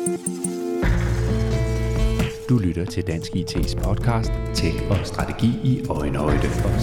Du lytter til Dansk IT's podcast Tech og strategi i øjenhøjde.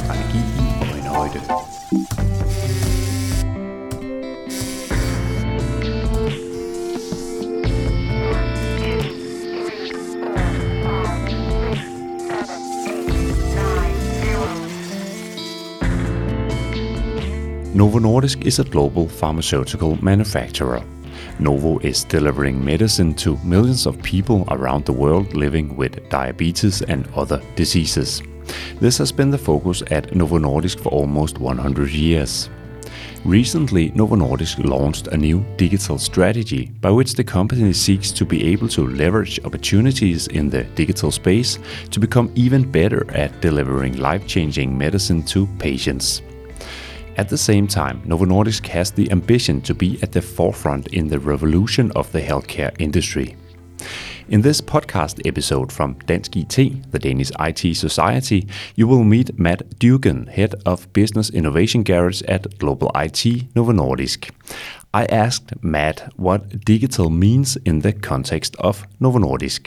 Novo Nordisk is a global pharmaceutical manufacturer. Novo is delivering medicine to millions of people around the world living with diabetes and other diseases. This has been the focus at Novo Nordisk for almost 100 years. Recently, Novo Nordisk launched a new digital strategy by which the company seeks to be able to leverage opportunities in the digital space to become even better at delivering life-changing medicine to patients. At the same time, Novo Nordisk has the ambition to be at the forefront in the revolution of the healthcare industry. In this podcast episode from Dansk IT, the Danish IT Society, you will meet Matt Dugan, Head of Business Innovation Garage at Global IT Novo Nordisk. I asked Matt what digital means in the context of Novo Nordisk.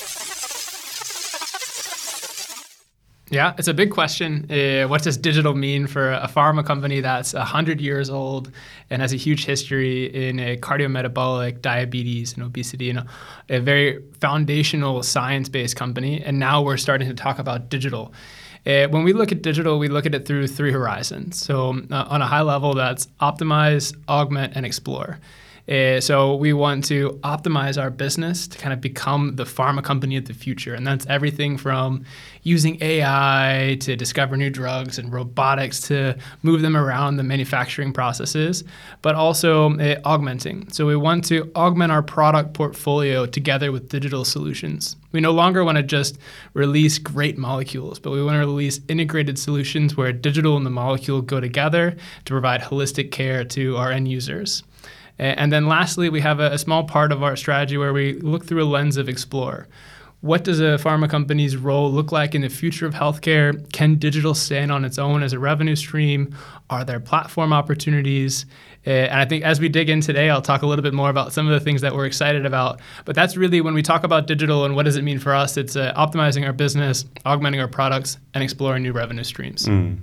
Yeah, it's a big question. What does digital mean for a pharma company that's 100 years old and has a huge history in cardiometabolic, diabetes, and obesity, and a very foundational science-based company? And now we're starting to talk about digital. When we look at digital, we look at it through three horizons. So on a high level, that's optimize, augment, and explore. So we want to optimize our business to kind of become the pharma company of the future. And that's everything from using AI to discover new drugs and robotics to move them around the manufacturing processes, but also augmenting. So we want to augment our product portfolio together with digital solutions. We no longer want to just release great molecules, but we want to release integrated solutions where digital and the molecule go together to provide holistic care to our end users. And then lastly, we have a small part of our strategy where we look through a lens of explore. What does a pharma company's role look like in the future of healthcare? Can digital stand on its own as a revenue stream? Are there platform opportunities? And I think as we dig in today, I'll talk a little bit more about some of the things that we're excited about. But that's really when we talk about digital and what does it mean for us, it's optimizing our business, augmenting our products, and exploring new revenue streams.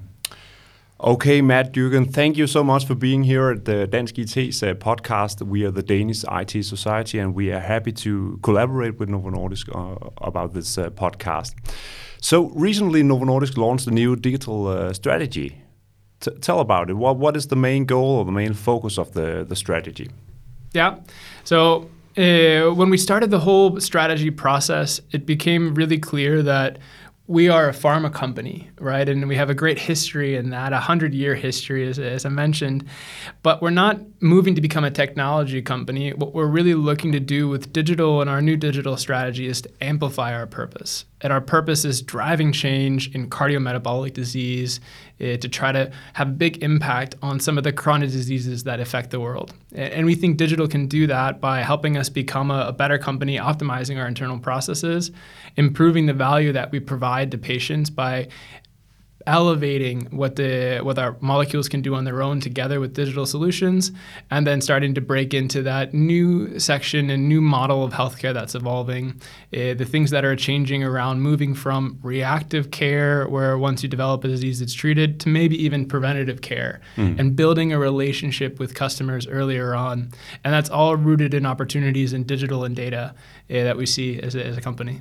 Okay, Matt Dugan, thank you so much for being here at the Dansk IT's podcast. We are the Danish IT Society, and we are happy to collaborate with Novo Nordisk about this podcast. So recently, Novo Nordisk launched a new digital strategy. Tell about it. What is the main goal or the main focus of the strategy? Yeah, so when we started the whole strategy process, it became really clear that we are a pharma company, right? And we have a great history in that, 100-year history, as I mentioned. But we're not moving to become a technology company. What we're really looking to do with digital and our new digital strategy is to amplify our purpose. And our purpose is driving change in cardiometabolic disease to try to have a big impact on some of the chronic diseases that affect the world. And we think digital can do that by helping us become a better company, optimizing our internal processes, improving the value that we provide to patients by elevating what our molecules can do on their own together with digital solutions, and then starting to break into that new section and new model of healthcare that's evolving, the things that are changing around moving from reactive care, where once you develop a disease it's treated, to maybe even preventative care, and building a relationship with customers earlier on. And that's all rooted in opportunities in digital and data that we see as a company.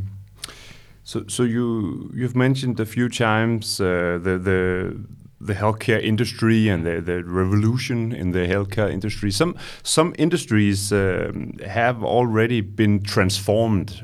So you've mentioned a few times the healthcare industry and the revolution in the healthcare industry. Some industries have already been transformed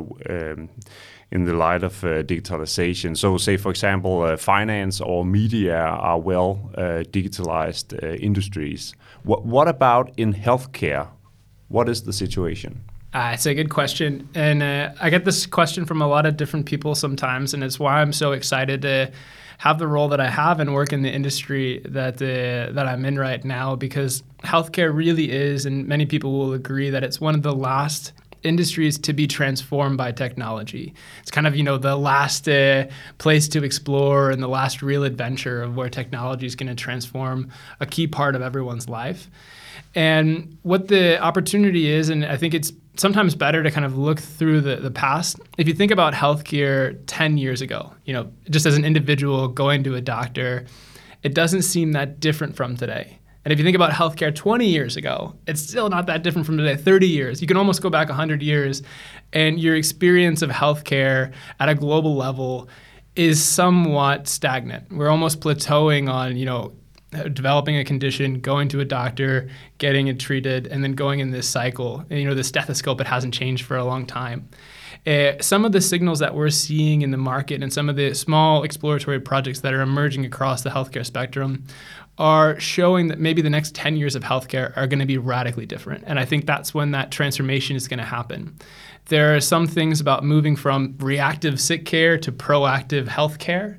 in the light of digitalization. So say, for example, finance or media are well digitalized industries. What about in healthcare? What is the situation? It's a good question. And I get this question from a lot of different people sometimes, and it's why I'm so excited to have the role that I have and work in the industry that I'm in right now, because healthcare really is, and many people will agree, that it's one of the last industries to be transformed by technology. It's kind of, the last place to explore and the last real adventure of where technology is going to transform a key part of everyone's life. And what the opportunity is, and I think it's sometimes better to kind of look through the past. If you think about healthcare 10 years ago, just as an individual going to a doctor, it doesn't seem that different from today. And if you think about healthcare 20 years ago, it's still not that different from today. 30 years, you can almost go back 100 years, and your experience of healthcare at a global level is somewhat stagnant. We're almost plateauing on, developing a condition, going to a doctor, getting it treated, and then going in this cycle. And, the stethoscope, it hasn't changed for a long time. Some of the signals that we're seeing in the market and some of the small exploratory projects that are emerging across the healthcare spectrum are showing that maybe the next 10 years of healthcare are going to be radically different. And I think that's when that transformation is going to happen. There are some things about moving from reactive sick care to proactive healthcare,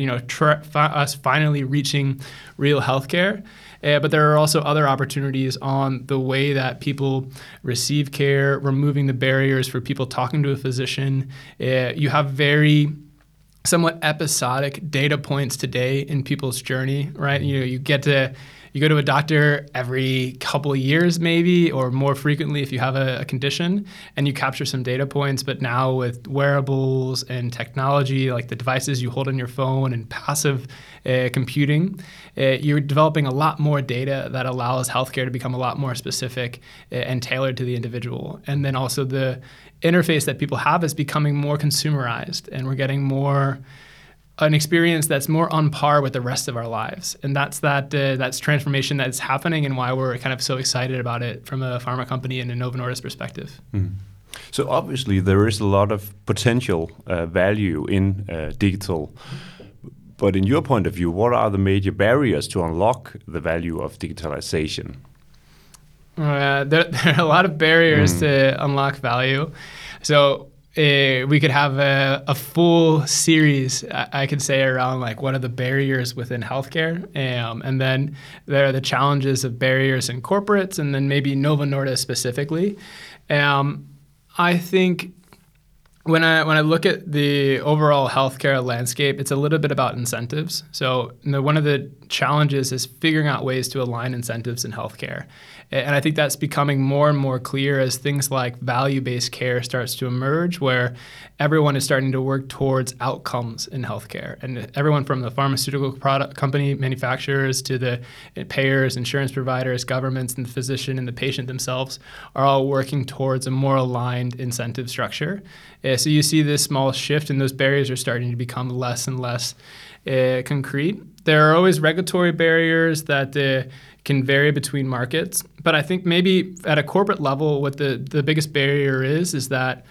us finally reaching real healthcare. But there are also other opportunities on the way that people receive care, removing the barriers for people talking to a physician. You have very somewhat episodic data points today in people's journey, right? You go to a doctor every couple of years maybe, or more frequently if you have a condition, and you capture some data points. But now with wearables and technology, like the devices you hold on your phone and passive computing, you're developing a lot more data that allows healthcare to become a lot more specific and tailored to the individual. And then also the interface that people have is becoming more consumerized, and we're getting an experience that's more on par with the rest of our lives. And that's transformation that's happening, and why we're kind of so excited about it from a pharma company and a Novo Nordisk perspective. Mm. So obviously there is a lot of potential value in digital. But in your point of view, what are the major barriers to unlock the value of digitalization? There are a lot of barriers to unlock value. So we could have a full series, I could say, around like what are the barriers within healthcare, and then there are the challenges of barriers in corporates, and then maybe Novo Nordisk specifically. I think when I look at the overall healthcare landscape, it's a little bit about incentives. So one of the challenges is figuring out ways to align incentives in healthcare. And I think that's becoming more and more clear as things like value-based care starts to emerge, where everyone is starting to work towards outcomes in healthcare. And everyone from the pharmaceutical product company manufacturers to the payers, insurance providers, governments, and the physician and the patient themselves are all working towards a more aligned incentive structure. So you see this small shift, and those barriers are starting to become less and less concrete. There are always regulatory barriers that can vary between markets, but I think maybe at a corporate level, what the biggest barrier is that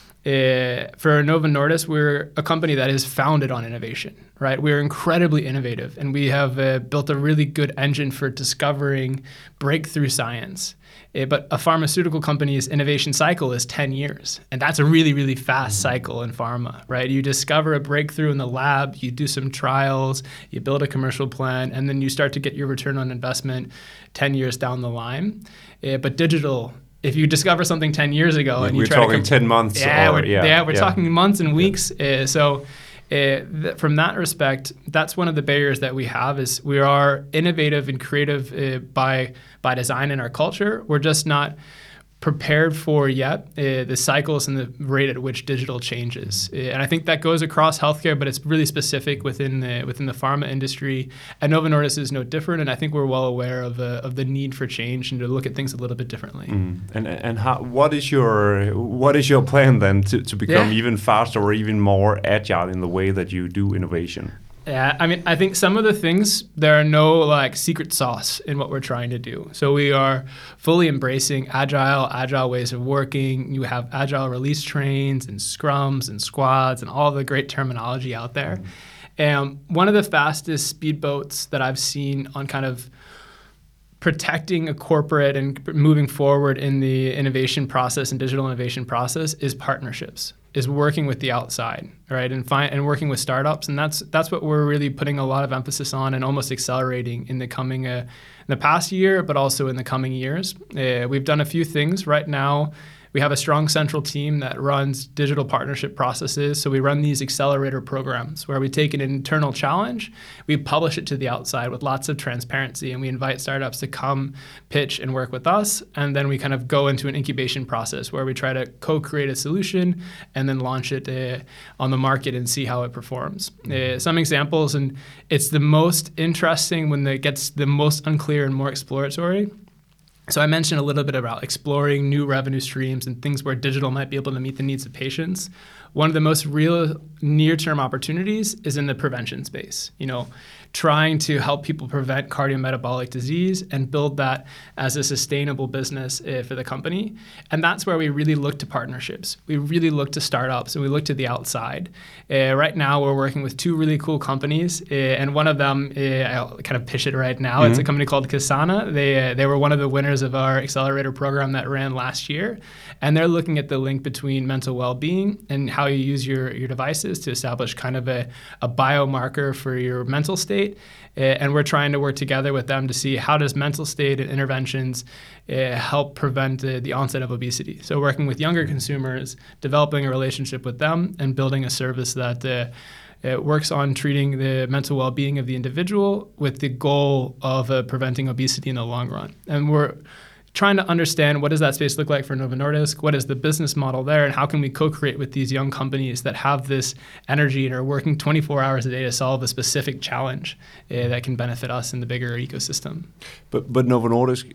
for Novo Nordisk, we're a company that is founded on innovation, right? We're incredibly innovative, and we have built a really good engine for discovering breakthrough science. But a pharmaceutical company's innovation cycle is 10 years. And that's a really, really fast cycle in pharma, right? You discover a breakthrough in the lab, you do some trials, you build a commercial plan, and then you start to get your return on investment 10 years down the line. But digital, if you discover something 10 years ago and you try to... We're talking 10 months. We're talking months and weeks. From that respect, that's one of the barriers that we have is we are innovative and creative by design in our culture. We're just not prepared for yet the cycles and the rate at which digital changes. And I think that goes across healthcare, but it's really specific within the pharma industry. And Novo Nordisk is no different. And I think we're well aware of the need for change and to look at things a little bit differently. And what is your plan then to become even faster or even more agile in the way that you do innovation? Yeah, I mean, I think some of the things, there are no secret sauce in what we're trying to do. So we are fully embracing agile ways of working. You have agile release trains and scrums and squads and all the great terminology out there. And one of the fastest speedboats that I've seen on kind of protecting a corporate and moving forward in the innovation process and digital innovation process is partnerships, is working with the outside, right? And working with startups. And that's what we're really putting a lot of emphasis on and almost accelerating in the past year, but also in the coming years. We've done a few things right now. We have a strong central team that runs digital partnership processes. So we run these accelerator programs where we take an internal challenge, we publish it to the outside with lots of transparency, and we invite startups to come pitch and work with us. And then we kind of go into an incubation process where we try to co-create a solution and then launch it on the market and see how it performs. Some examples, and it's the most interesting when it gets the most unclear and more exploratory. So I mentioned a little bit about exploring new revenue streams and things where digital might be able to meet the needs of patients. One of the most real near-term opportunities is in the prevention space. Trying to help people prevent cardiometabolic disease and build that as a sustainable business for the company. And that's where we really look to partnerships. We really look to startups, and we look to the outside. Right now, we're working with 2 really cool companies, and one of them, I'll kind of pitch it right now. It's a company called Kasana. They were one of the winners of our accelerator program that ran last year, and they're looking at the link between mental well-being and how you use your devices to establish kind of a biomarker for your mental state. And we're trying to work together with them to see how does mental state and interventions help prevent the onset of obesity. So working with younger consumers, developing a relationship with them, and building a service that works on treating the mental well-being of the individual with the goal of preventing obesity in the long run. And we're trying to understand what does that space look like for Novo Nordisk, what is the business model there, and how can we co-create with these young companies that have this energy and are working 24 hours a day to solve a specific challenge that can benefit us in the bigger ecosystem. But Novo Nordisk,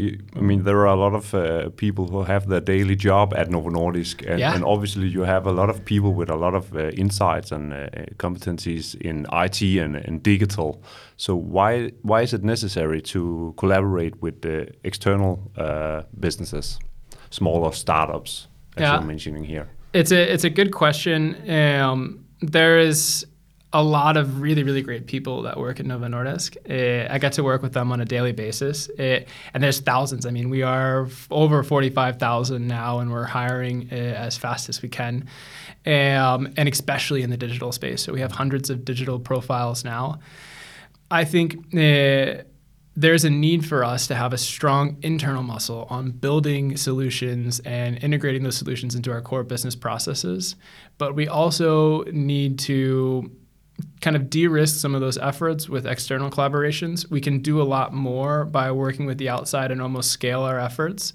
there are a lot of people who have their daily job at Novo Nordisk, and obviously you have a lot of people with a lot of insights and competencies in IT and digital. So why is it necessary to collaborate with the external businesses, smaller startups, as you're mentioning here? It's a good question. There is a lot of really, really great people that work at Novo Nordisk. I get to work with them on a daily basis, and there's thousands. We are over 45,000 now, and we're hiring as fast as we can, and especially in the digital space. So we have hundreds of digital profiles now. I think there's a need for us to have a strong internal muscle on building solutions and integrating those solutions into our core business processes. But we also need to kind of de-risk some of those efforts with external collaborations. We can do a lot more by working with the outside and almost scale our efforts.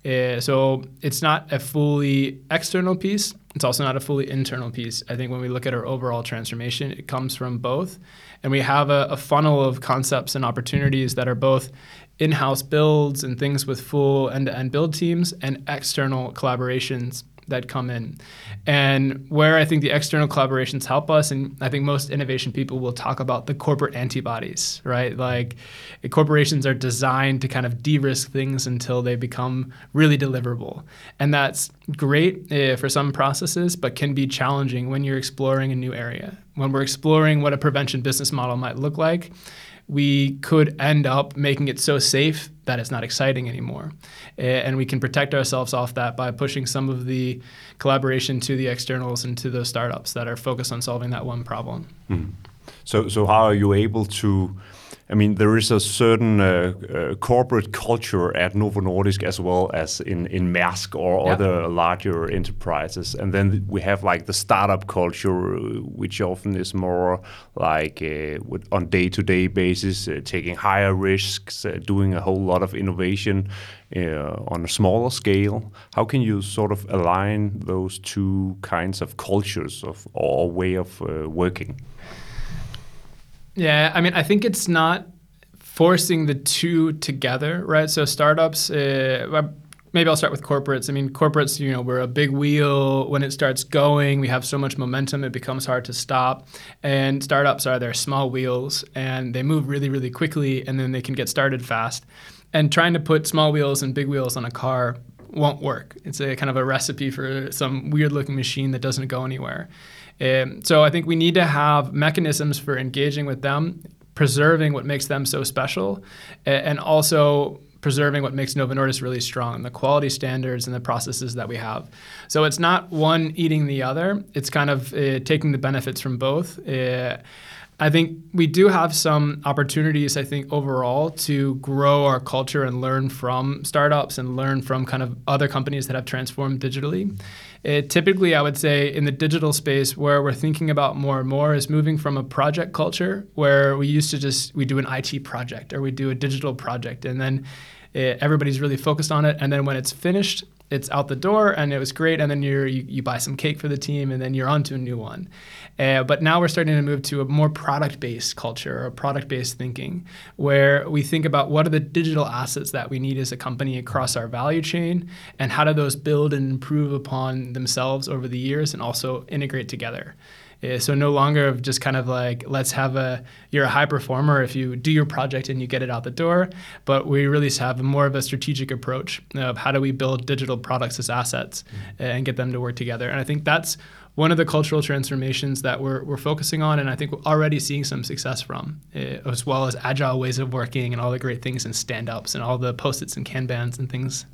So it's not a fully external piece. It's also not a fully internal piece. I think when we look at our overall transformation, it comes from both. And we have a funnel of concepts and opportunities that are both in-house builds and things with full end-to-end build teams and external collaborations that come in. And where I think the external collaborations help us, and I think most innovation people will talk about the corporate antibodies, right? Like corporations are designed to kind of de-risk things until they become really deliverable. And that's great for some processes, but can be challenging when you're exploring a new area. When we're exploring what a prevention business model might look like, we could end up making it so safe that it's not exciting anymore. And we can protect ourselves off that by pushing some of the collaboration to the externals and to those startups that are focused on solving that one problem. Mm. So how are you able to, there is a certain corporate culture at Novo Nordisk as well as in Maersk or other larger enterprises. And then we have like the startup culture, which often is more like on day-to-day basis, taking higher risks, doing a whole lot of innovation on a smaller scale. How can you sort of align those two kinds of cultures or way of working? Yeah, I think it's not forcing the two together, right? So startups, maybe I'll start with corporates. Corporates, we're a big wheel. When it starts going, we have so much momentum, it becomes hard to stop. And startups are their small wheels, and they move really, really quickly, and then they can get started fast. And trying to put small wheels and big wheels on a car won't work. It's a kind of a recipe for some weird-looking machine that doesn't go anywhere. So I think we need to have mechanisms for engaging with them, preserving what makes them so special, and also preserving what makes Novo Nordisk really strong, the quality standards and the processes that we have. So it's not one eating the other. It's kind of taking the benefits from both. I think we do have some opportunities, I think, overall to grow our culture and learn from startups and learn from kind of other companies that have transformed digitally. Typically, I would say in the digital space, where we're thinking about more and more is moving from a project culture where we used to we do an IT project or we do a digital project, and then everybody's really focused on it. And then when it's finished, it's out the door and it was great, and then you buy some cake for the team and then you're on to a new one. But now we're starting to move to a more product-based culture or product-based thinking, where we think about what are the digital assets that we need as a company across our value chain, and how do those build and improve upon themselves over the years and also integrate together. So no longer of just kind of like, you're a high performer if you do your project and you get it out the door, but we really have more of a strategic approach of how do we build digital products as assets and get them to work together. And I think that's one of the cultural transformations that we're focusing on, and I think we're already seeing some success from, as well as agile ways of working and all the great things and stand-ups and all the Post-its and Kanbans and things.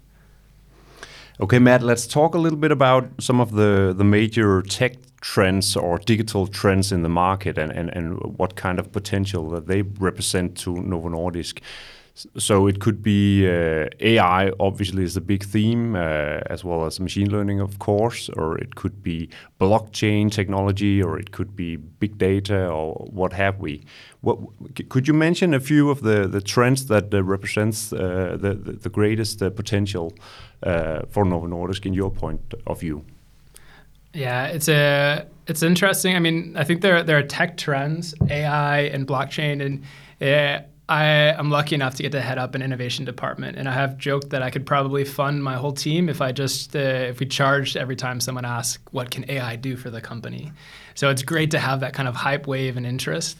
Okay, Matt, let's talk a little bit about some of the major tech trends or digital trends in the market and what kind of potential that they represent to Novo Nordisk. So it could be AI, obviously, is a big theme, as well as machine learning, of course, or it could be blockchain technology, or it could be big data, or what have we. Could you mention a few of the trends that represents the greatest potential for Novo Nordisk in your point of view? Yeah, it's interesting. I mean, I think there are tech trends, AI and blockchain, and I'm lucky enough to get to head up an innovation department, and I have joked that I could probably fund my whole team if we charged every time someone asks, what can AI do for the company? So it's great to have that kind of hype wave and interest.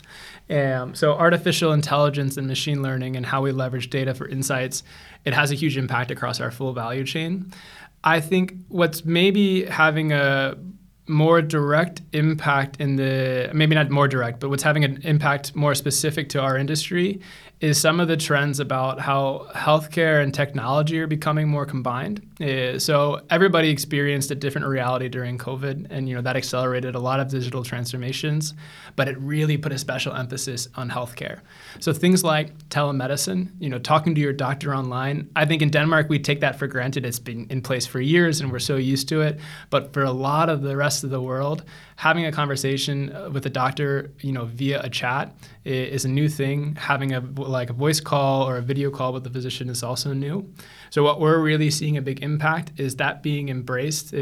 So artificial intelligence and machine learning and how we leverage data for insights, it has a huge impact across our full value chain. I think what's maybe having a more direct impact maybe not more direct, but what's having an impact more specific to our industry is some of the trends about how healthcare and technology are becoming more combined. So everybody experienced a different reality during COVID, and that accelerated a lot of digital transformations, but it really put a special emphasis on healthcare. So things like telemedicine, talking to your doctor online. I think in Denmark we take that for granted. It's been in place for years and we're so used to it. But for a lot of the rest of the world, having a conversation with a doctor, via a chat is a new thing. Having a voice call or a video call with the physician is also new. So what we're really seeing a big impact is that being embraced,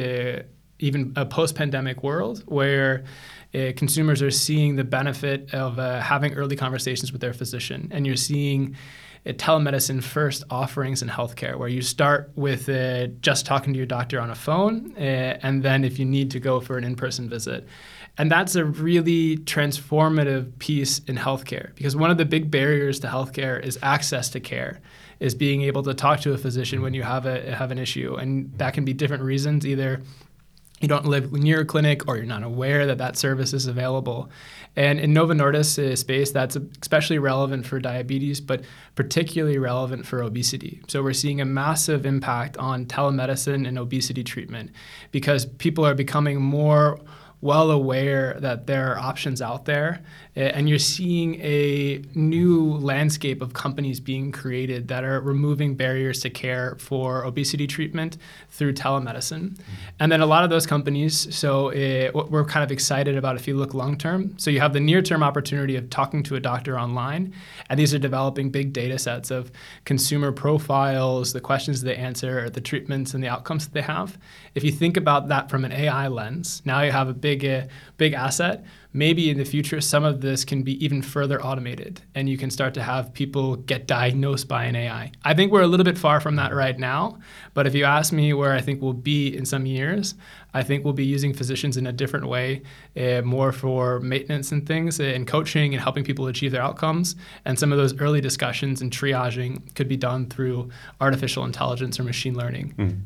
even a post-pandemic world where consumers are seeing the benefit of having early conversations with their physician. And you're seeing telemedicine first offerings in healthcare, where you start with just talking to your doctor on a phone, and then if you need to go for an in-person visit. And that's a really transformative piece in healthcare, because one of the big barriers to healthcare is access to care, is being able to talk to a physician when you have an issue. And that can be different reasons. Either you don't live near a clinic or you're not aware that service is available. And in Novo Nordisk space, that's especially relevant for diabetes, but particularly relevant for obesity. So we're seeing a massive impact on telemedicine and obesity treatment, because people are becoming more well aware that there are options out there, and you're seeing a new landscape of companies being created that are removing barriers to care for obesity treatment through telemedicine. And then a lot of those companies, so what we're kind of excited about if you look long term, so you have the near term opportunity of talking to a doctor online, and these are developing big data sets of consumer profiles, the questions they answer, the treatments and the outcomes that they have. If you think about that from an AI lens, now you have a big asset. Maybe in the future, some of this can be even further automated, and you can start to have people get diagnosed by an AI. I think we're a little bit far from that right now, but if you ask me where I think we'll be in some years, I think we'll be using physicians in a different way, more for maintenance and things, and coaching and helping people achieve their outcomes. And some of those early discussions and triaging could be done through artificial intelligence or machine learning.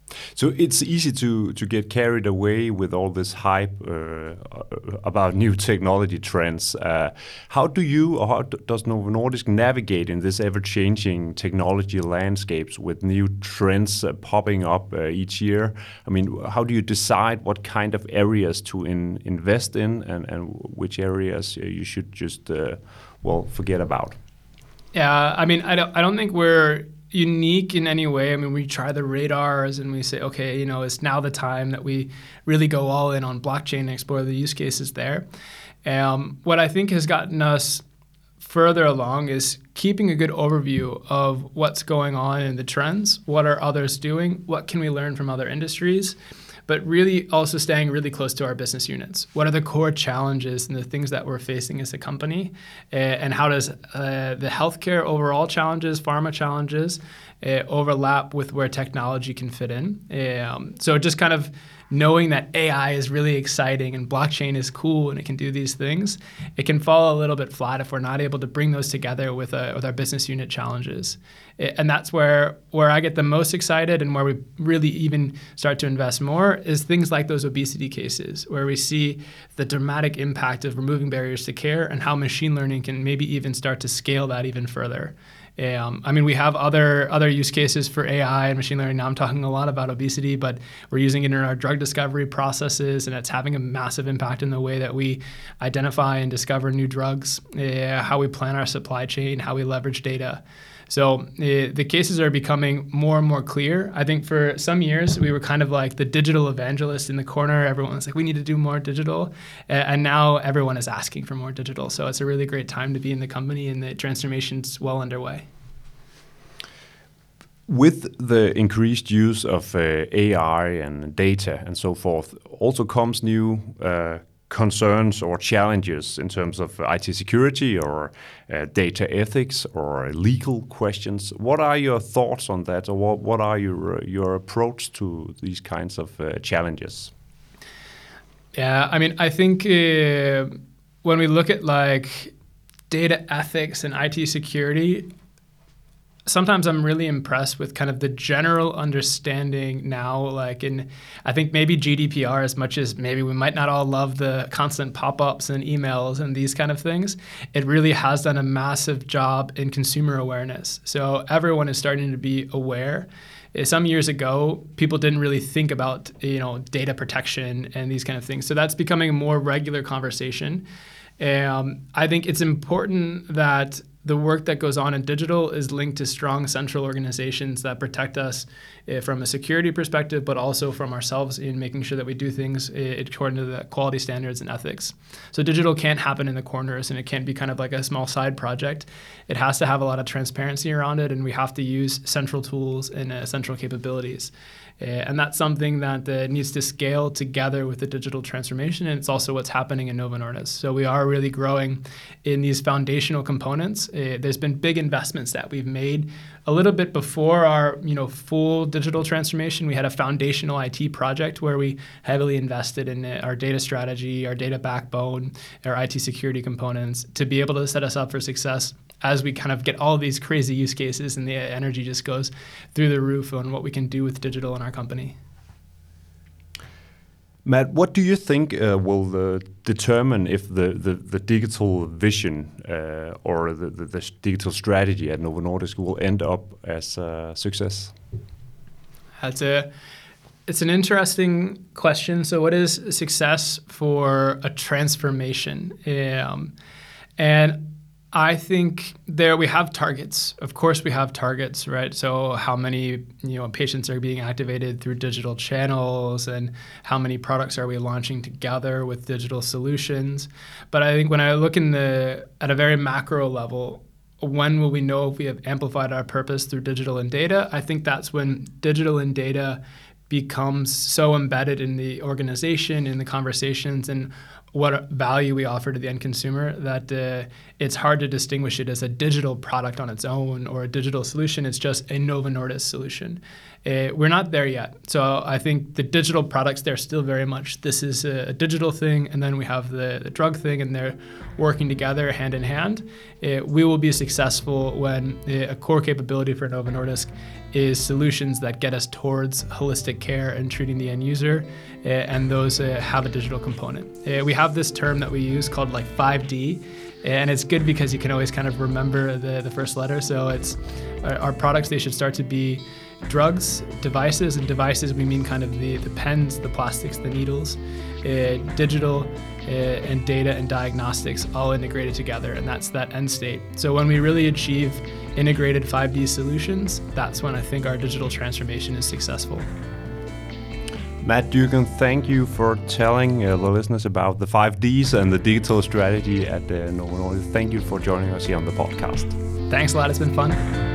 So it's easy to get carried away with all this hype about new technology trends. How do you, or how does Novo Nordisk navigate in this ever-changing technology landscapes with new trends popping up each year? I mean, how do you decide what kind of areas to invest in and which areas you should just forget about? Yeah, I mean, I don't think we're unique in any way. I mean, we try the radars and we say, okay, it's now the time that we really go all in on blockchain and explore the use cases there. What I think has gotten us further along is keeping a good overview of what's going on in the trends, what are others doing, what can we learn from other industries, but really also staying really close to our business units. What are the core challenges and the things that we're facing as a company? And how does the healthcare overall challenges, pharma challenges, overlap with where technology can fit in? So just kind of knowing that AI is really exciting and blockchain is cool and it can do these things, it can fall a little bit flat if we're not able to bring those together with our business unit challenges. And that's where I get the most excited and where we really even start to invest more is things like those obesity cases, where we see the dramatic impact of removing barriers to care and how machine learning can maybe even start to scale that even further. I mean, we have other use cases for AI and machine learning. Now I'm talking a lot about obesity, but we're using it in our drug discovery processes, and it's having a massive impact in the way that we identify and discover new drugs, how we plan our supply chain, how we leverage data. So the cases are becoming more and more clear. I think for some years, we were kind of like the digital evangelist in the corner. Everyone was like, we need to do more digital. And now everyone is asking for more digital. So it's a really great time to be in the company, and the transformation's well underway. With the increased use of AI and data and so forth, also comes new concerns or challenges in terms of IT security or data ethics or legal questions. What are your thoughts on that, or what are your approach to these kinds of challenges? Yeah, I mean, I think when we look at like data ethics and IT security, sometimes I'm really impressed with kind of the general understanding now, like I think maybe GDPR, as much as maybe we might not all love the constant pop-ups and emails and these kind of things, it really has done a massive job in consumer awareness. So everyone is starting to be aware. Some years ago, people didn't really think about, data protection and these kind of things. So that's becoming a more regular conversation. I think it's important that the work that goes on in digital is linked to strong central organizations that protect us from a security perspective, but also from ourselves in making sure that we do things according to the quality standards and ethics. So digital can't happen in the corners, and it can't be kind of like a small side project. It has to have a lot of transparency around it, and we have to use central tools and central capabilities. And that's something that needs to scale together with the digital transformation, and it's also what's happening in Novo Nordisk. So we are really growing in these foundational components. There's been big investments that we've made a little bit before our full digital transformation. We had a foundational IT project where we heavily invested in our data strategy, our data backbone, our IT security components to be able to set us up for success as we kind of get all of these crazy use cases and the energy just goes through the roof on what we can do with digital in our company. Matt, what do you think will determine if the digital vision or the digital strategy at Novo Nordisk will end up as a success? It's an interesting question. So what is success for a transformation? And I think there we have targets. Of course, we have targets, right? So how many patients are being activated through digital channels, and how many products are we launching together with digital solutions? But I think when I look at a very macro level, when will we know if we have amplified our purpose through digital and data? I think that's when digital and data becomes so embedded in the organization, in the conversations, and what value we offer to the end consumer, that it's hard to distinguish it as a digital product on its own or a digital solution. It's just a Novo Nordisk solution. We're not there yet. So I think the digital products, they're still very much, this is a digital thing, and then we have the drug thing, and they're working together hand in hand. We will be successful when a core capability for Novo Nordisk is solutions that get us towards holistic care and treating the end user, and those have a digital component. We have this term that we use called like 5D, and it's good because you can always kind of remember the first letter. So it's our products, they should start to be drugs, devices, and devices we mean kind of the pens, the plastics, the needles, digital, and data and diagnostics all integrated together, and that's that end state. So when we really achieve integrated 5D solutions, that's when I think our digital transformation is successful. Matt Dugan, thank you for telling the listeners about the 5Ds and the digital strategy at Novo Nordisk. Thank you for joining us here on the podcast. Thanks a lot, it's been fun.